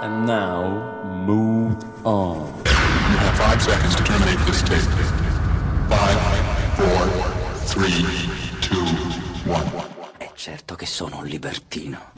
And now, move on. You have 5 seconds to terminate this tape. 5, 4, 3, 2, 1. È certo che sono un libertino.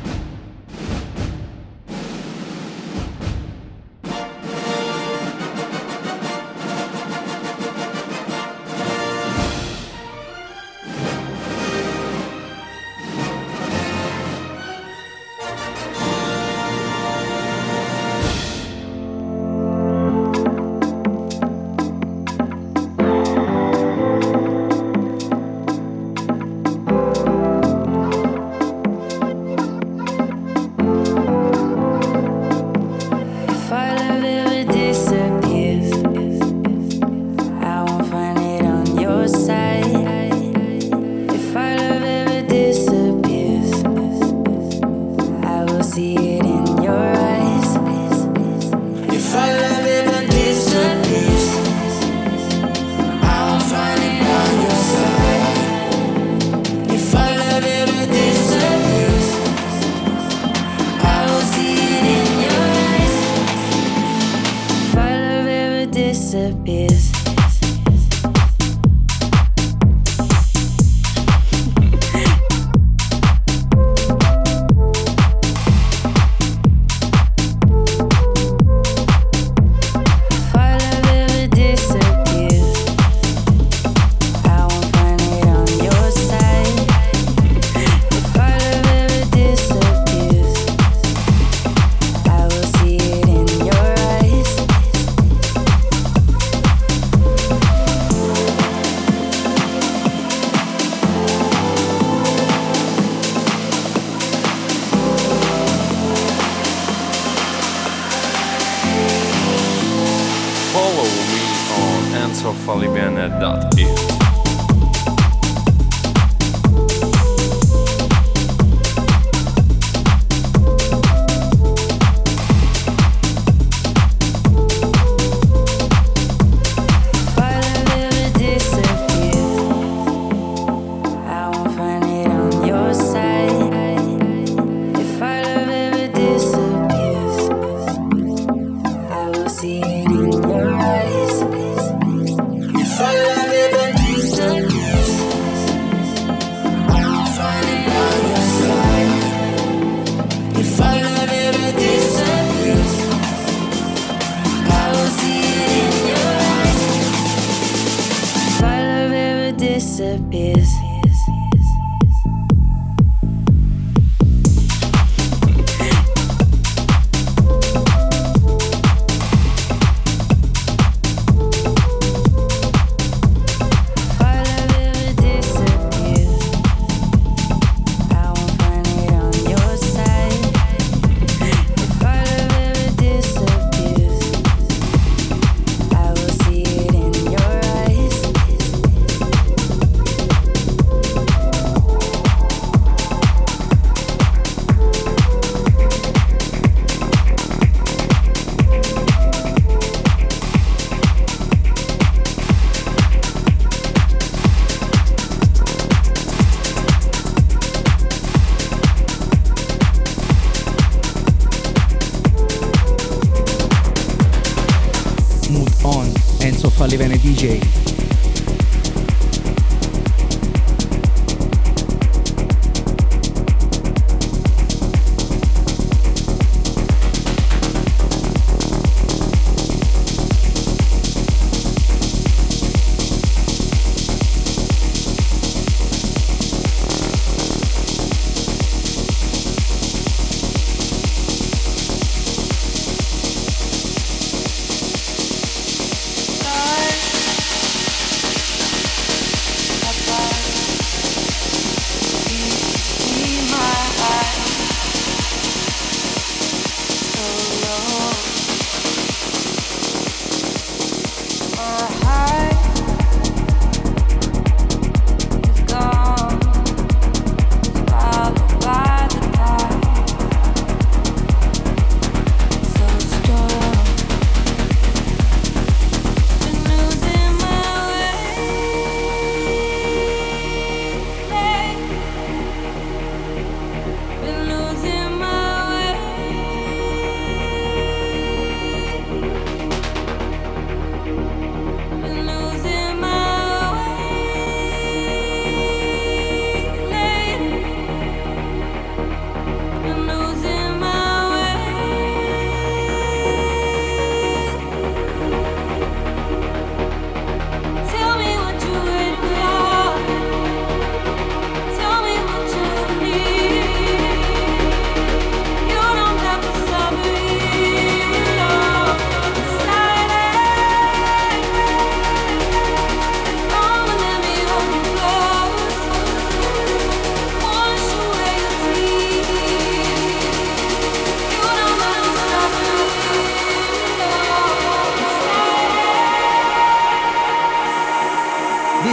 Livene DJ.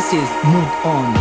This is Mood On.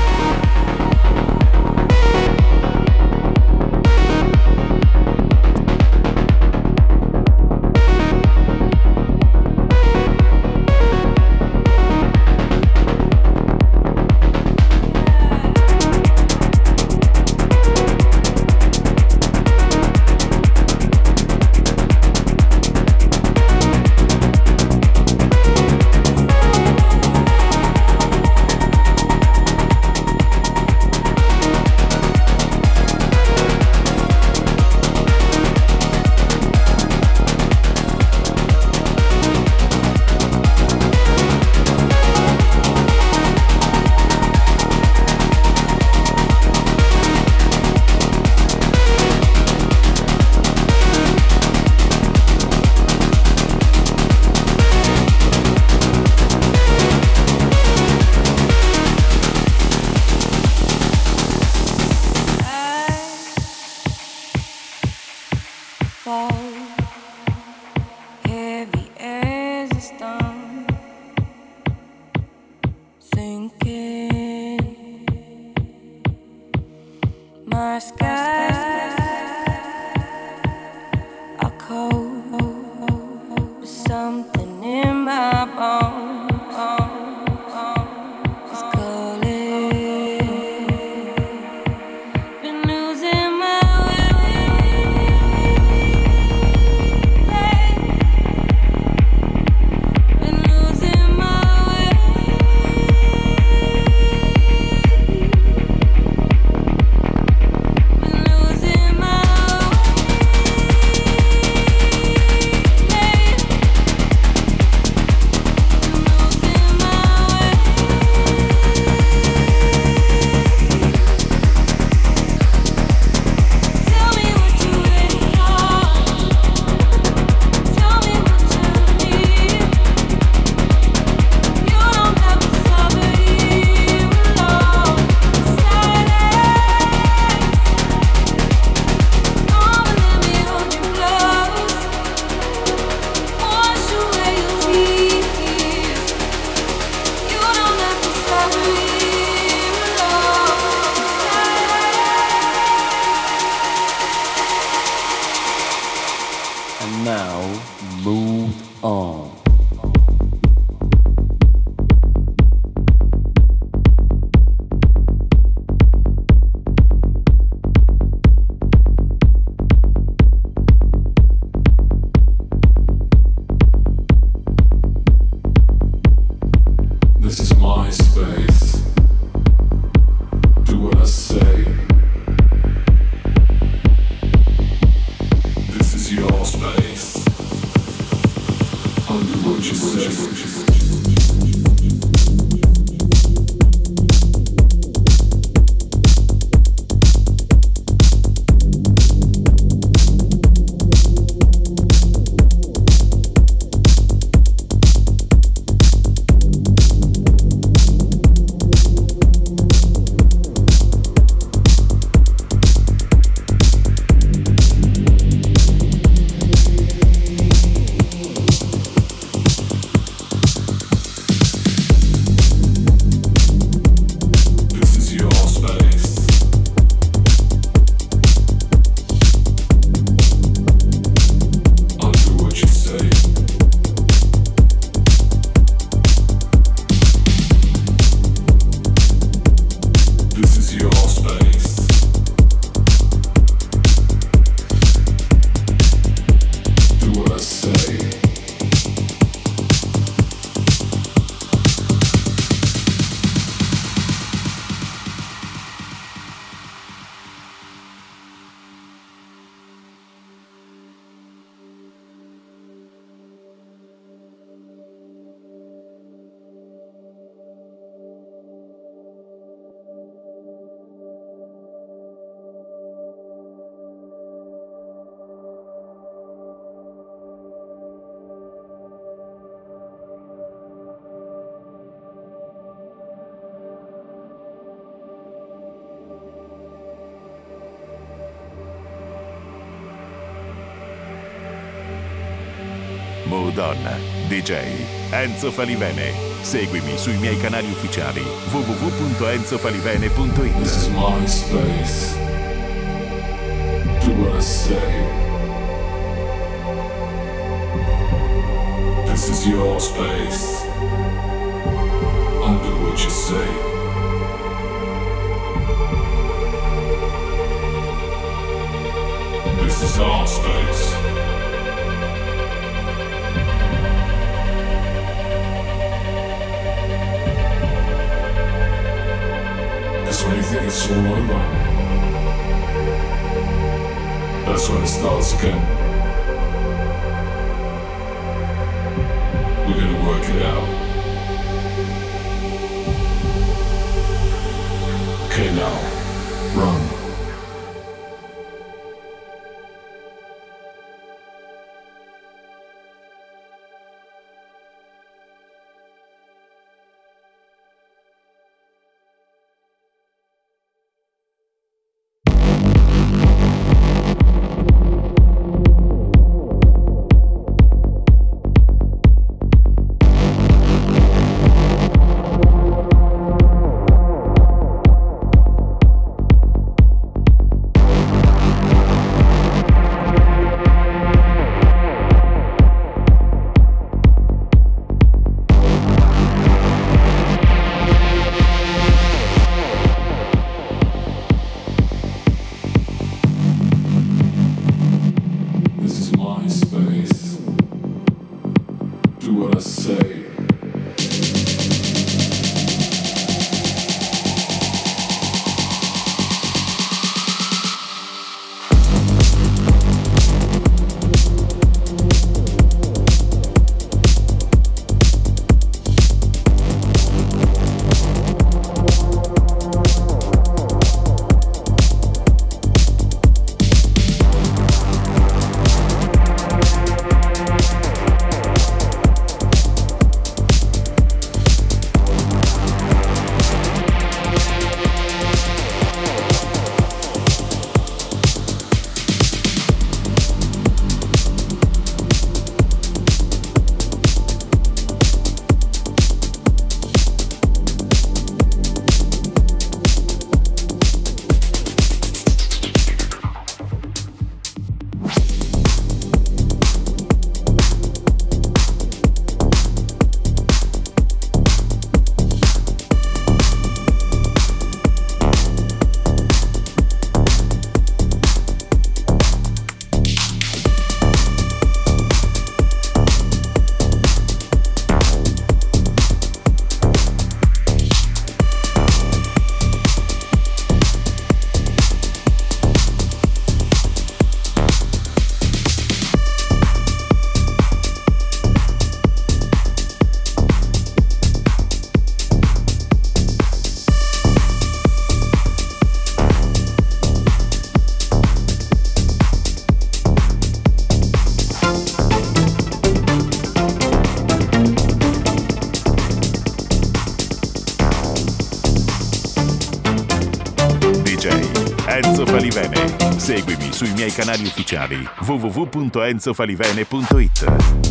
Mood On, DJ Enzo Falivene. Seguimi sui miei canali ufficiali www.enzofalivene.it. This is my space. Do what I say. This is your space. Undo what you say. This is our space. When you think it's all over, that's when it starts again. We're gonna work it out. Okay, now, run. Enzo Falivene. Seguimi sui miei canali ufficiali www.enzofalivene.it.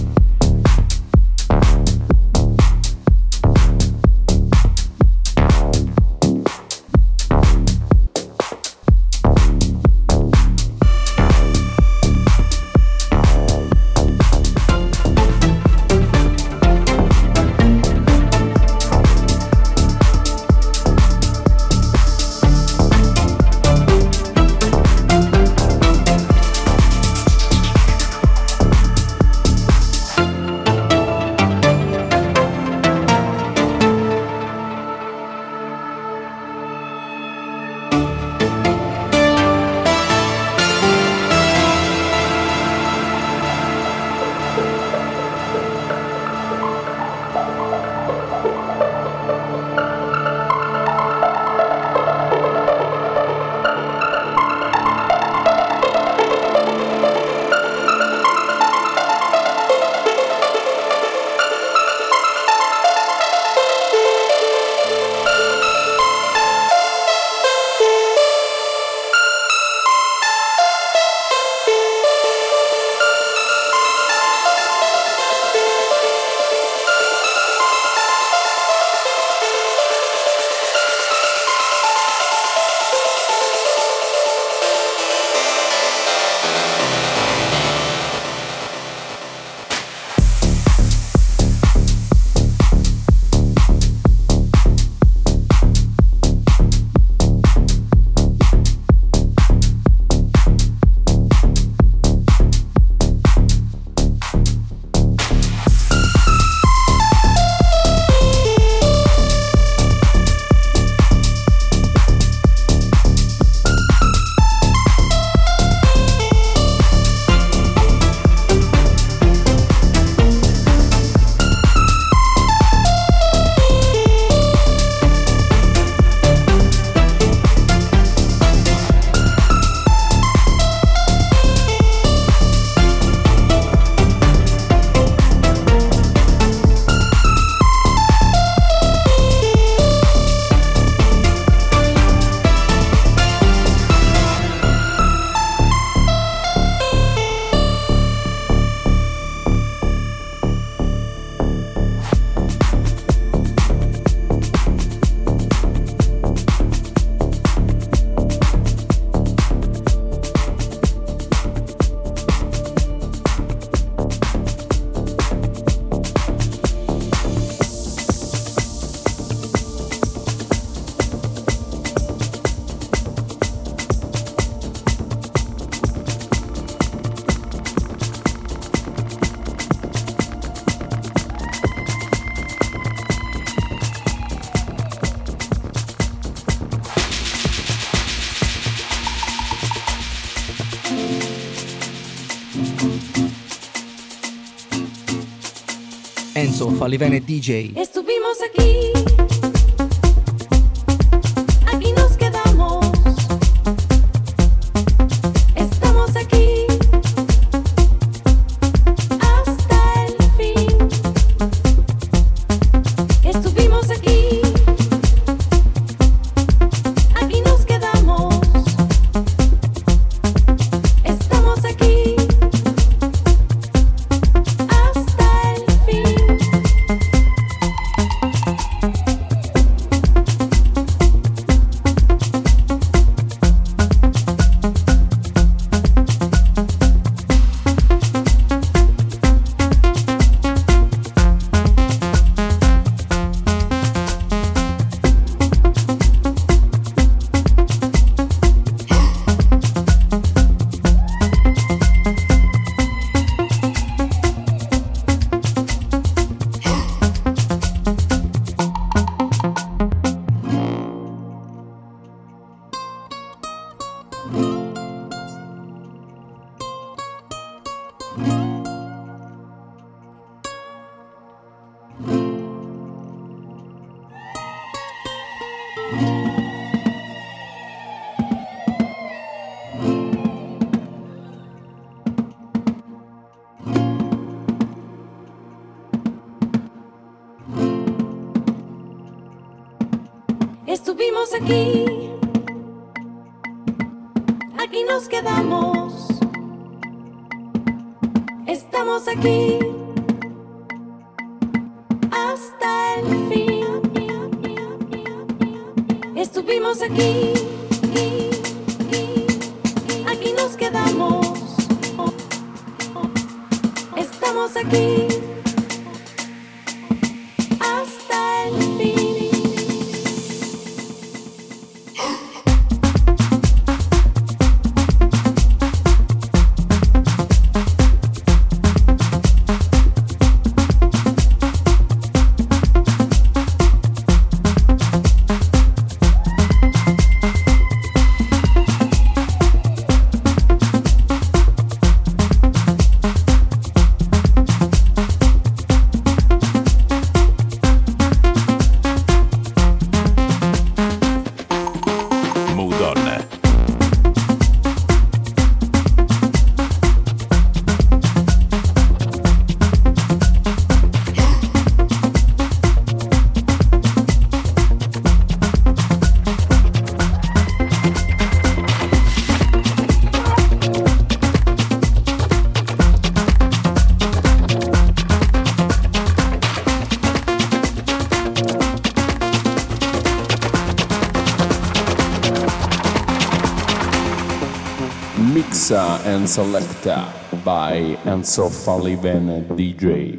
Enzo Falivene DJ. Estuvimos aquí, aquí nos quedamos, estamos aquí hasta el fin. Estuvimos aquí, aquí nos quedamos, estamos aquí hasta el fin. Estuvimos aquí, aquí nos quedamos, estamos aquí hasta el fin. Estuvimos aquí, aquí nos quedamos, estamos aquí hasta el fin. Mixa and Selecta by Enzo Falivene DJ.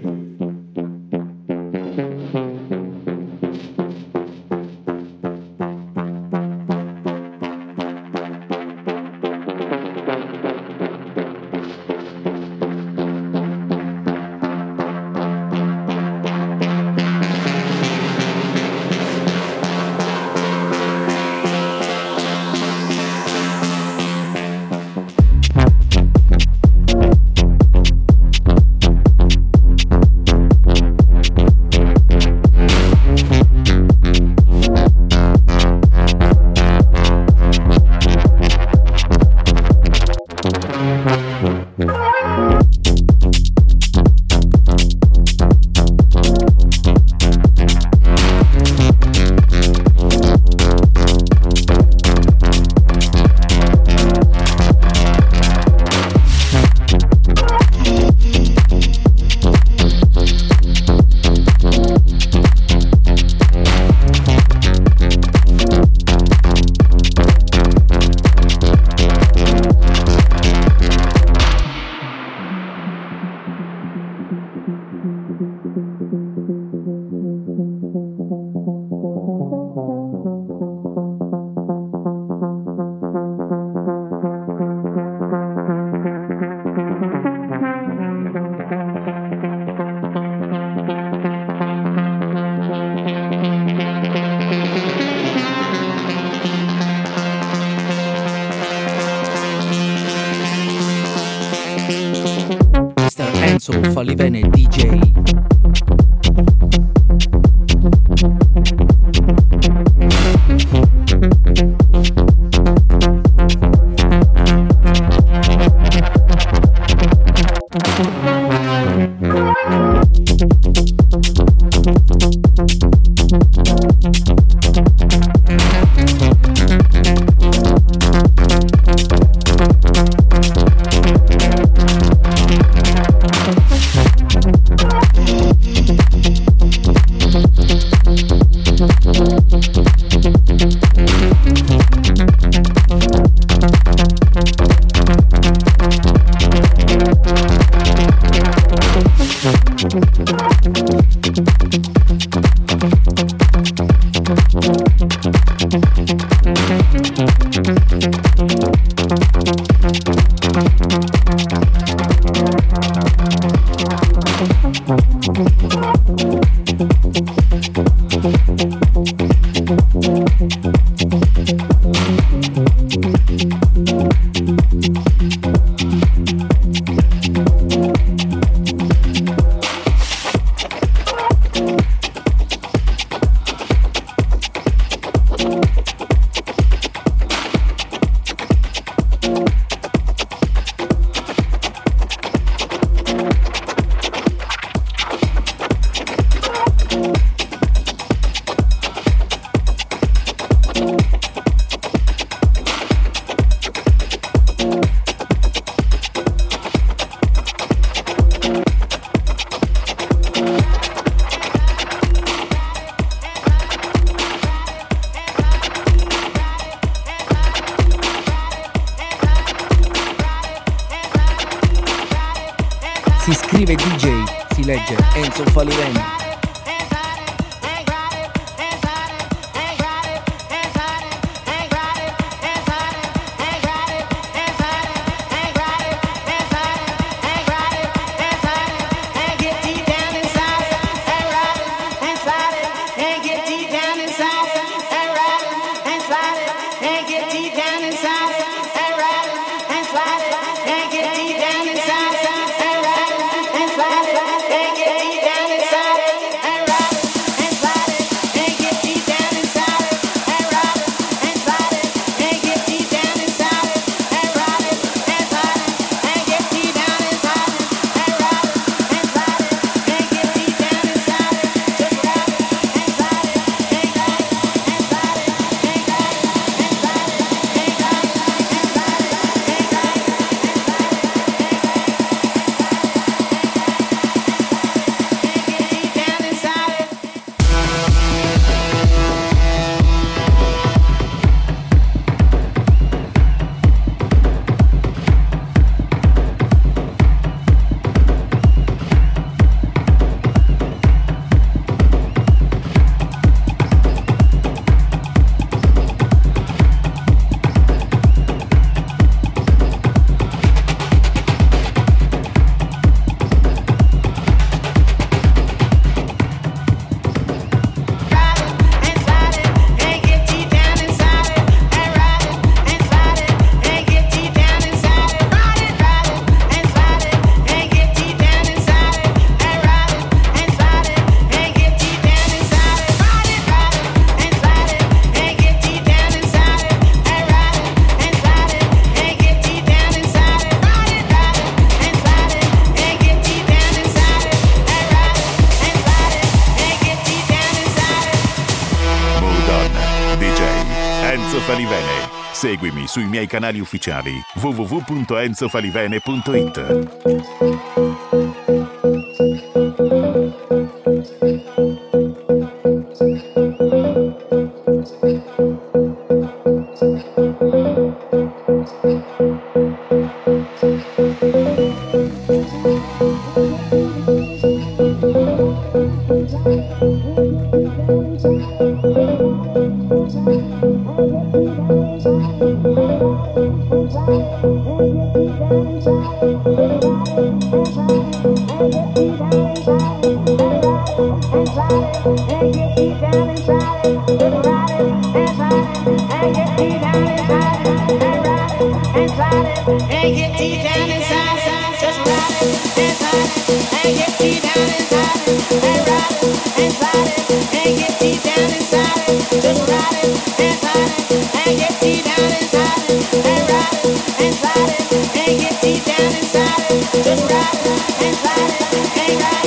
Enzo Falivene DJ. Si scrive DJ, si legge Enzo Falivene. Falivene. Seguimi sui miei canali ufficiali www.enzofalivene.it. Just ride it, and slide it, and get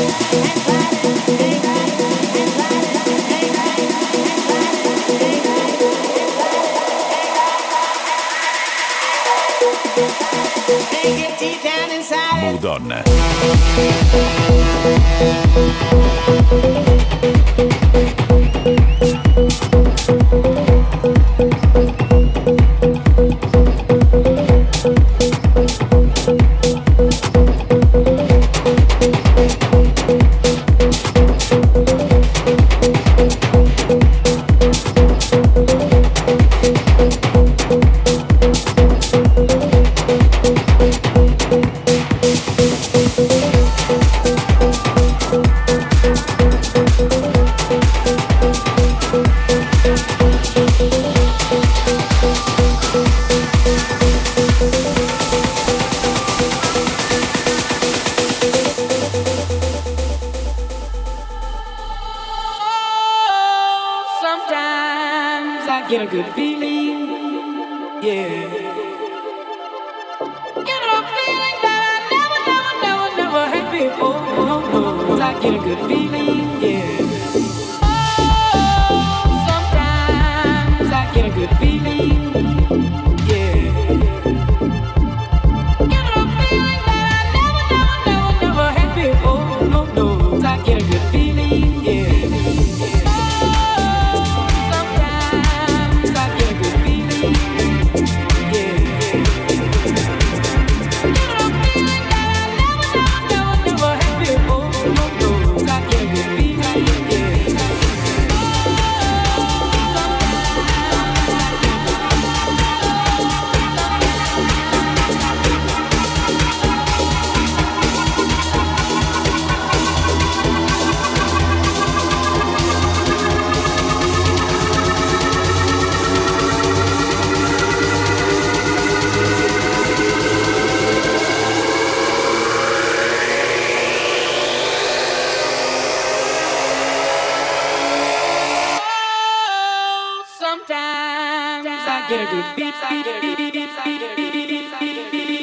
donna. Get a good feeling, yeah. Get a feeling that I never had before. No, I get a good feeling, yeah. Oh, sometimes I get a good feeling, yeah. Get a feeling that I never had before. No, I get a good feeling, yeah. Get a good beat, I get a good beat, I get a good beat, I get a good beat.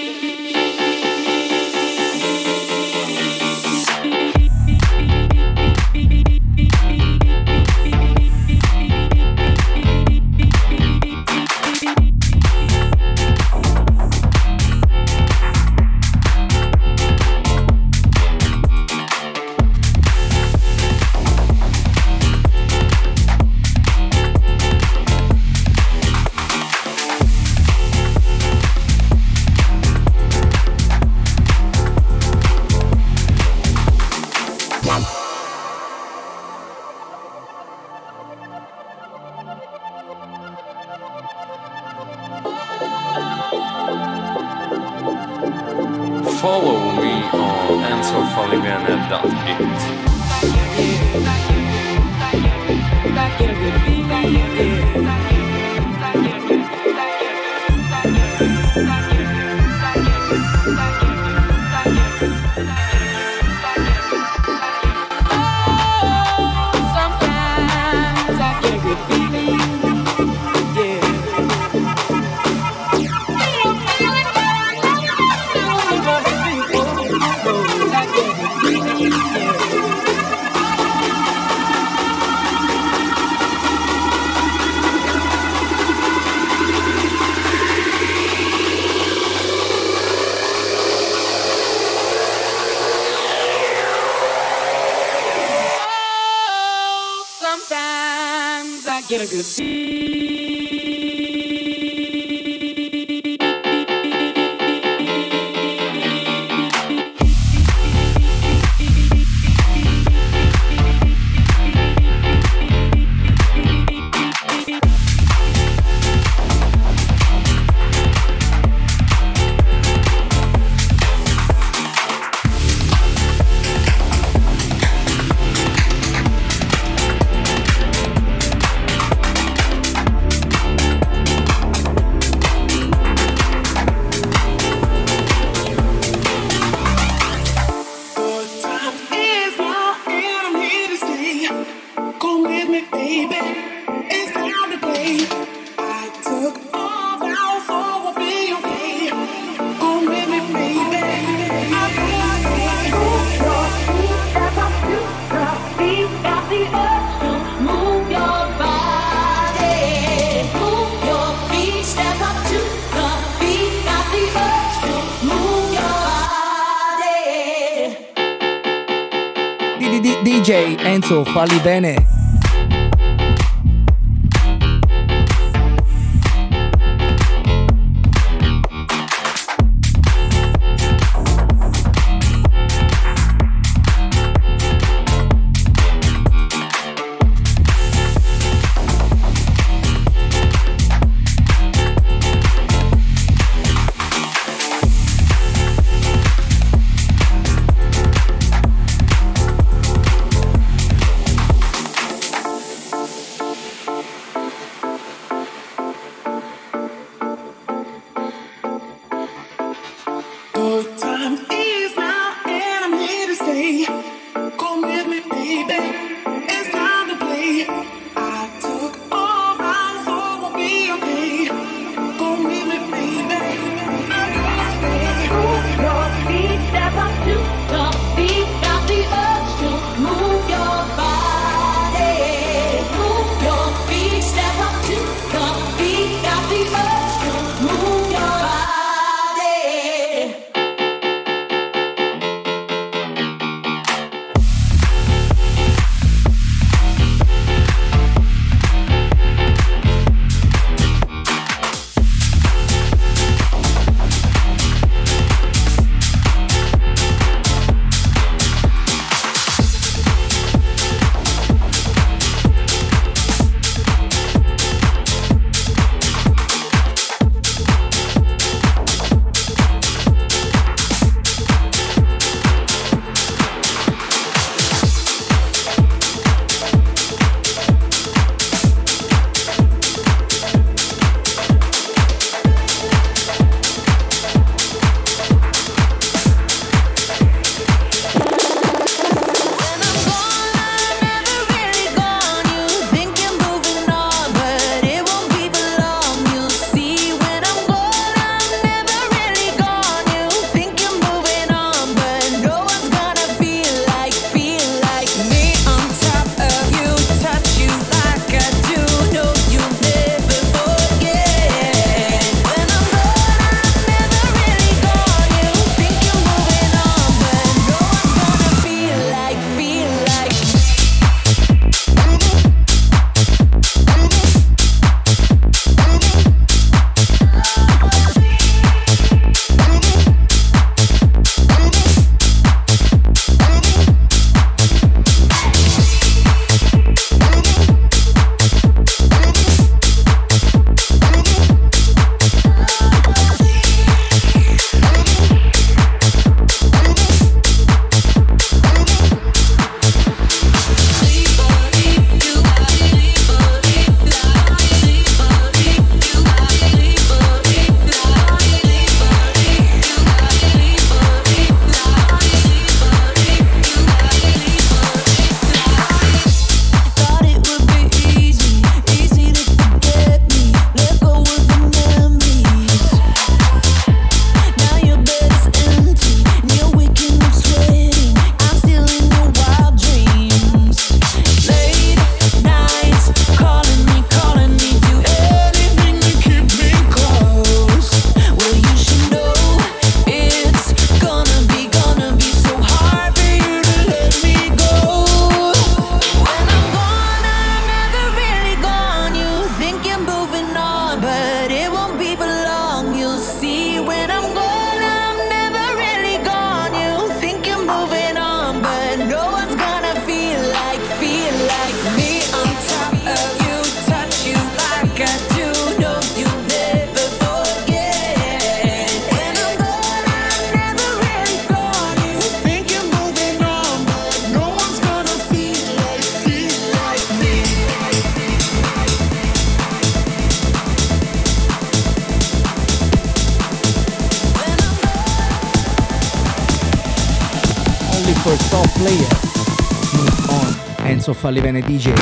Follow me on EnzoFalivene.it. Sometimes I get a good beat. DJ Enzo Falli Bene. for top player. Move on, Enzo Falli Bene DJ.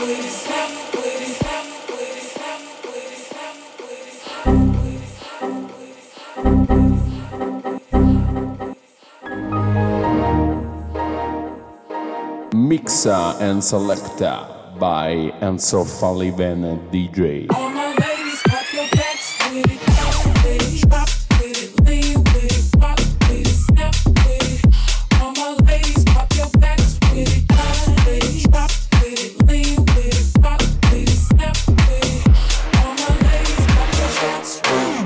Mixa and Selecta by Enzo Falivene DJ. All my ladies, pop your backs with it, bounce with it, drop with it, lean with it, rock with it, snap with it. All my ladies, pop your backs with it, bounce with it, drop with it, lean with it, rock with it, snap with it. All my ladies, pop your backs with it.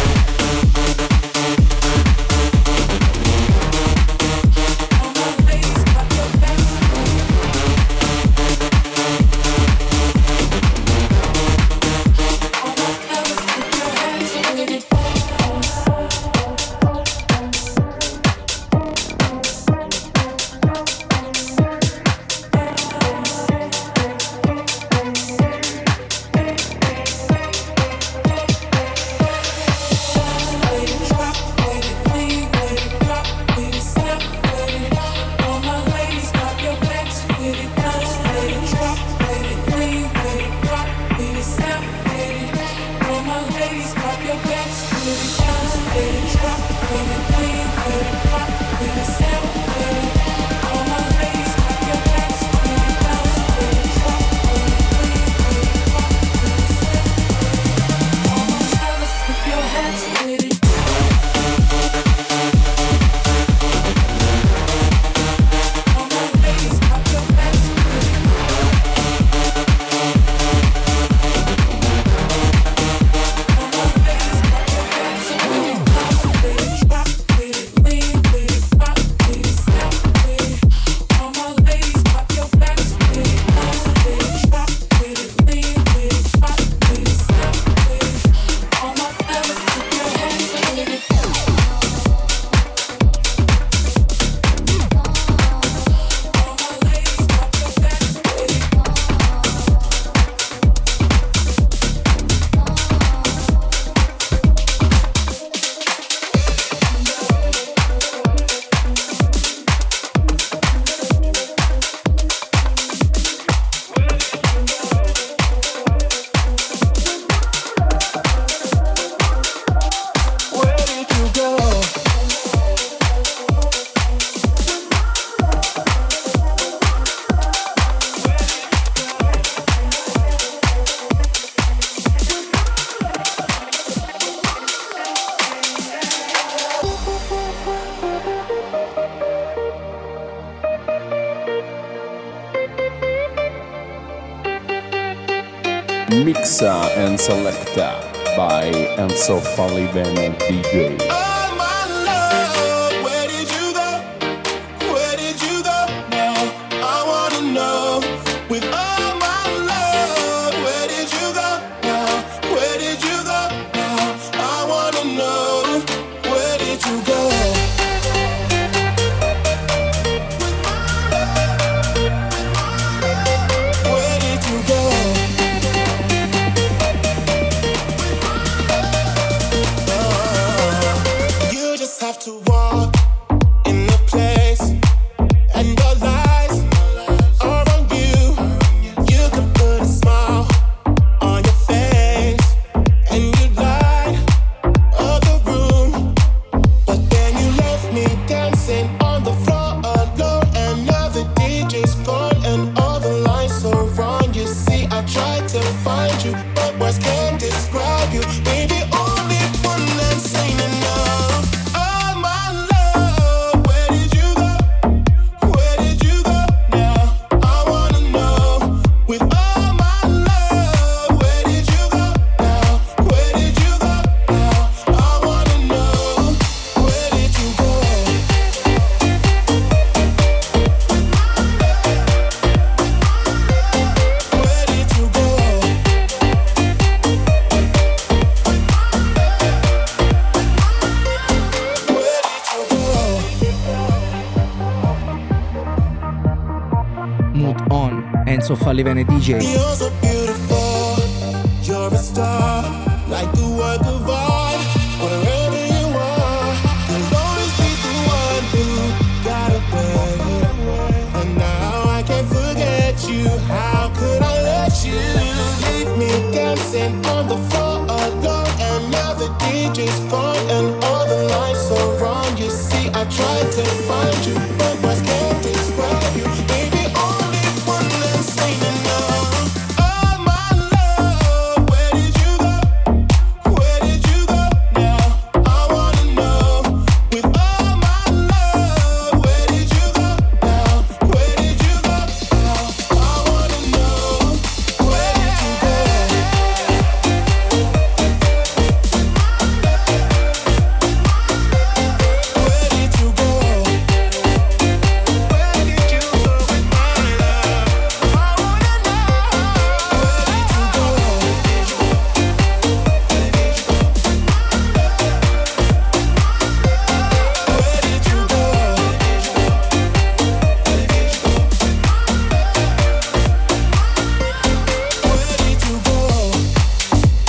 Mixa and Selecta by Enzo Falivene DJ. Enzo Falivene DJ. You're so beautiful, you're a star, like the work of art. Wherever you are, you'll always be the one who got away. And now I can't forget you. How could I let you. Leave me dancing on the floor alone, and now the DJ's gone and all the lights are wrong. You see, I tried to find you, but words can't describe you. Baby, only one that's ain't enough. Oh my love, where did you go? Where did you go now? I wanna know. With all my love, where did you go now? Where did you go now? I wanna know. Where did you go? Where did you go? Where did you go with my love? I wanna know. Where did you go? Where did you go? Where did you go?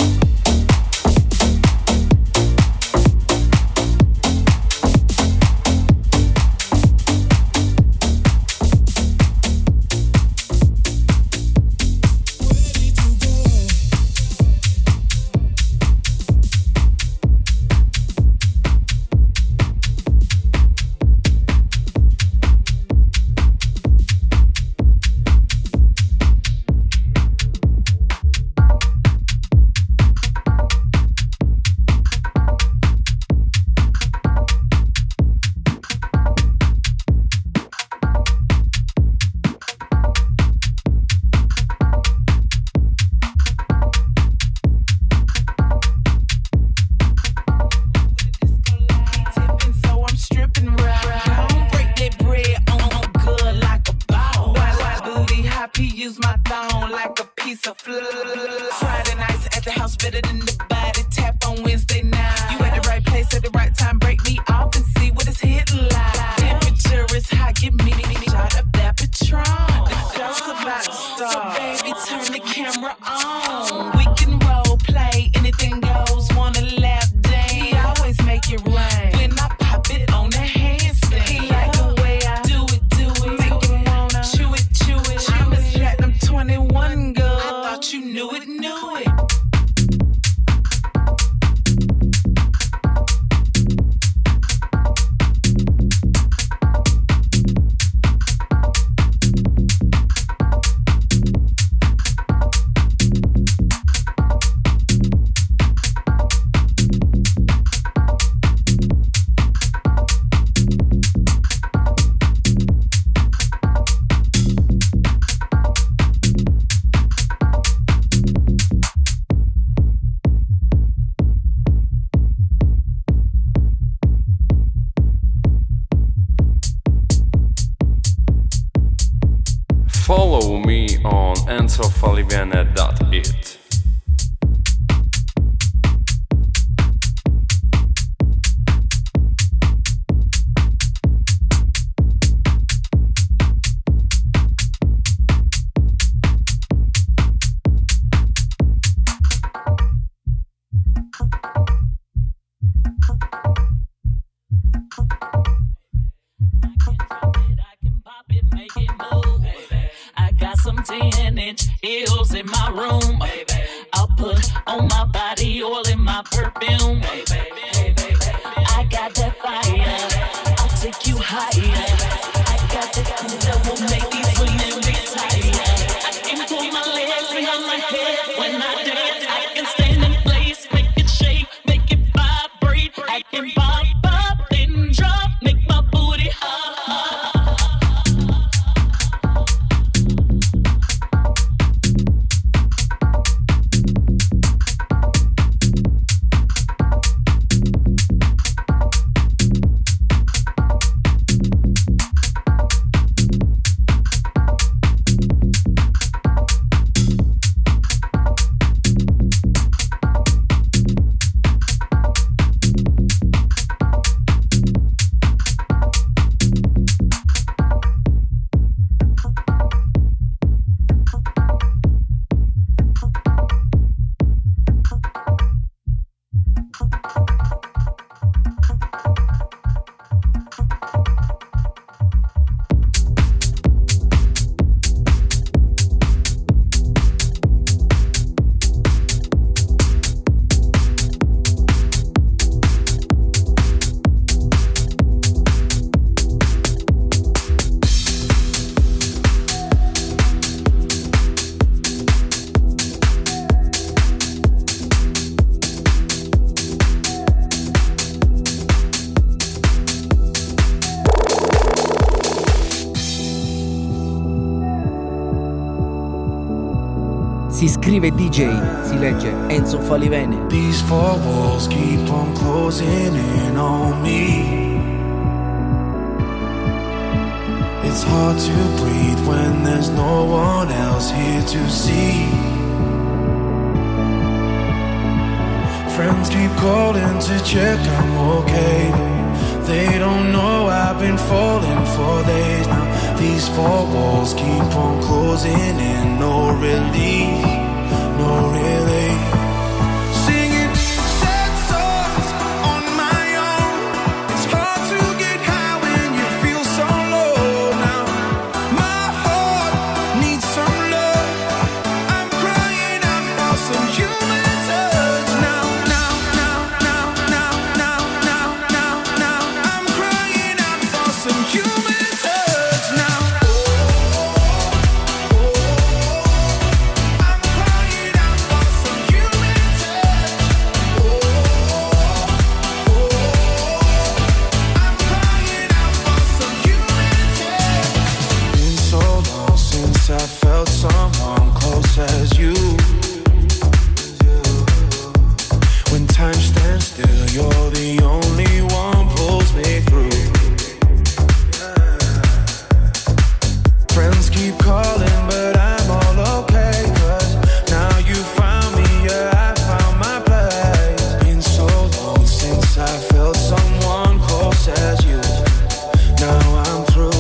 So I'm stripping round. Break that bread on good like a ball. White booty, high P, use my thong like a piece of fluff. Friday nights at the house better than the body tap on Wednesday night. You at the right place at the right time. Break me off and see what it's hitting like. Temperature is hot, give me shot of that Patron. The show's about to start. So baby, turn the camera on. We can role play, anything goes. Wanna lap dance? He always make it rain. When I pop it on the handstand, he like the way I do it, make him wanna chew it. I'm Miss Platinum 21 girl. I thought you knew it. Follow me on enzofalivene.it. I got some 10-inch heels in my room. I'll put on my body oil in my perfume. I got that fire. I'll take you higher. I got that cool that will make these women retire. I can pull my legs behind my head when I dance. I can stand in place, make it shake, make it vibrate. I can pop up and drop, make my booty hot. Si scrive DJ, si legge Enzo Falivene. These four walls keep on closing in on me. It's hard to breathe when there's no one else here to see. Friends keep calling to check I'm okay. They don't know I've been falling for days now. These four walls keep on closing in, no relief, no relief. Singing sad songs on my own. It's hard to get high when you feel so low now. My heart needs some love. I'm crying out for some human touch now. I'm crying out for some human touch now. I felt someone close as you. When time stands still, you're the only one pulls me through. Friends keep calling, but I'm all okay, 'cause now you found me, yeah, I found my place. Been so long since I felt someone close as you. Now I'm through.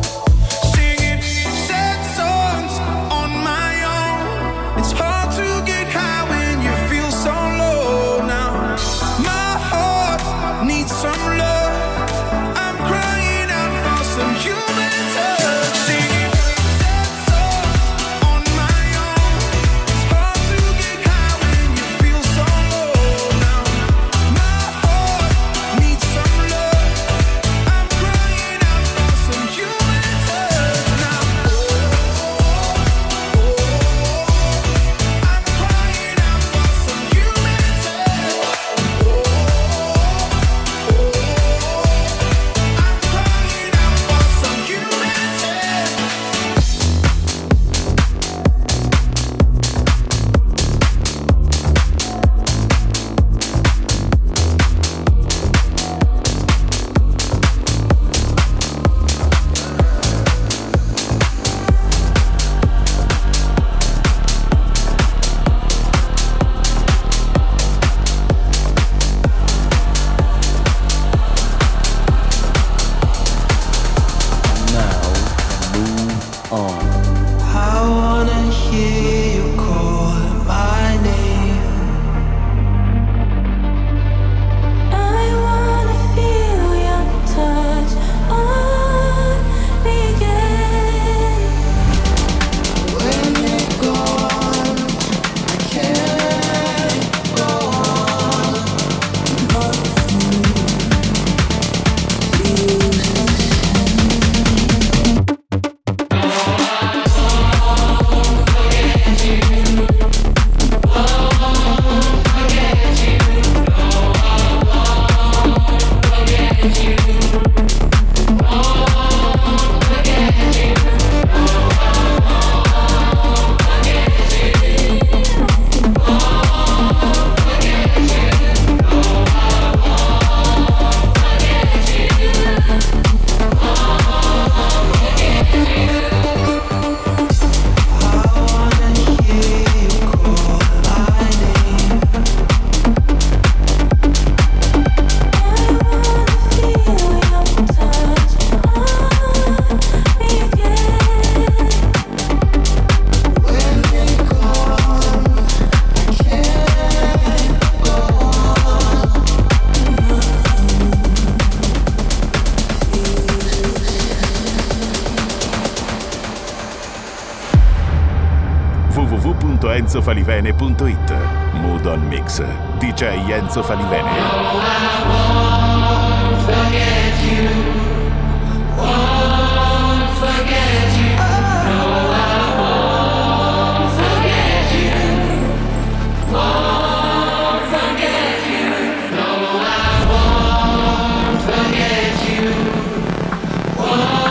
www.enzofalivene.it. Mood on Mix. DJ Enzo Falivene.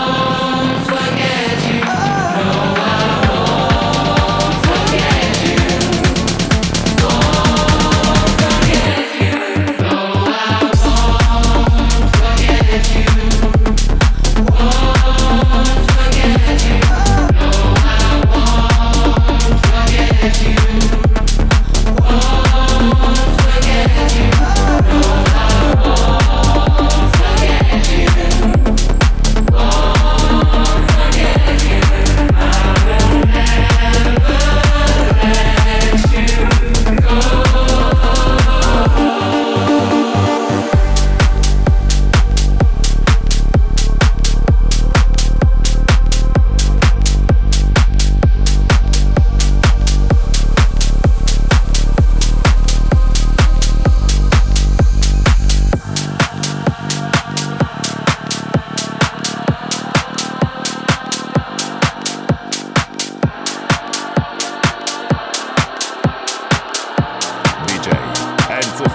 Forget you.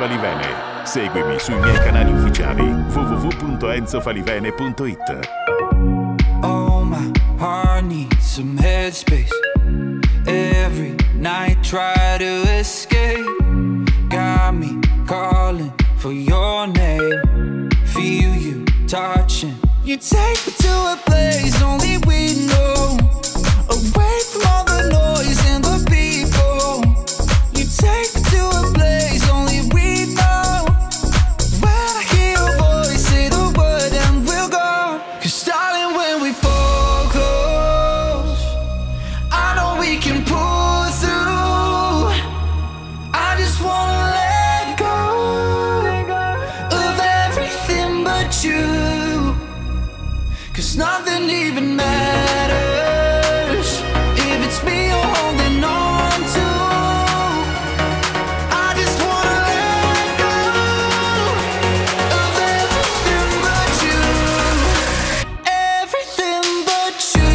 Falivene. Seguimi sui miei canali ufficiali www.enzofalivene.it. Oh, my heart needs some headspace. Every night try to escape. Got me calling for your name. Feel you touching. You take me to a place only we know. Away from all the noise and the people. You take me to a place only we know. When I hear your voice, say the word and we'll go. 'Cause darling, when we fall close, I know we can pull through. I just wanna let go of everything but you. 'Cause nothing even matters if it's me you're holding on to. I just wanna let go of everything but you. Everything but you.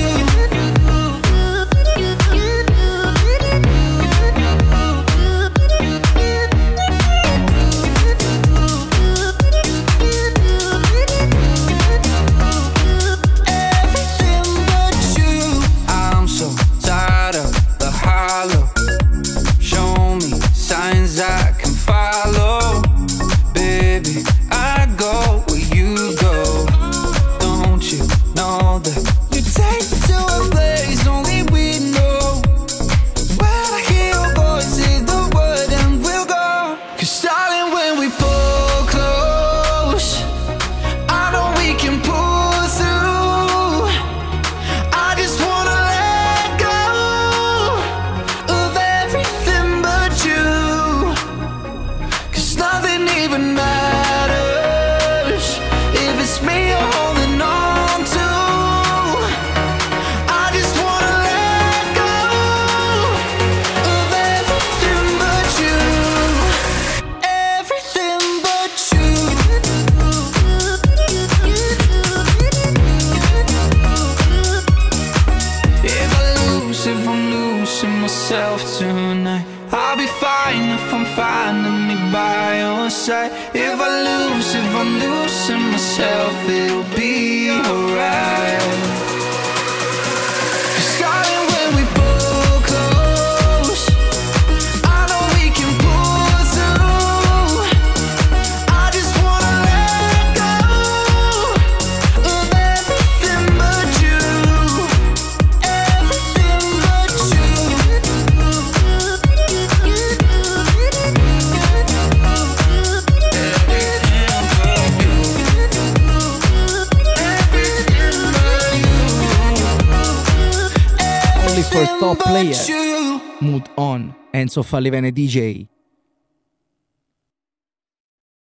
Everything but you. I'm so tired of the hollow. Show me signs I can follow. Baby, I go where you go. Don't you know that you take me to a place only we know. When I hear your voice, say the word and we'll go. 'Cause darling, when we pull close, I know we can pull through. I just wanna let go of everything but you. 'Cause nothing even matters if it's me you're holding on to. I just wanna let go of everything but you. Everything but you. If I'm losing myself tonight, I'll be fine if I'm finding me by your side. If I'm losing myself, it'll be alright. 'Cause darling, when we pull close, I know we can pull through. I just wanna let go of everything but you. Everything but you. Only for top player. But you. Mood on. Enzo Falivene DJ.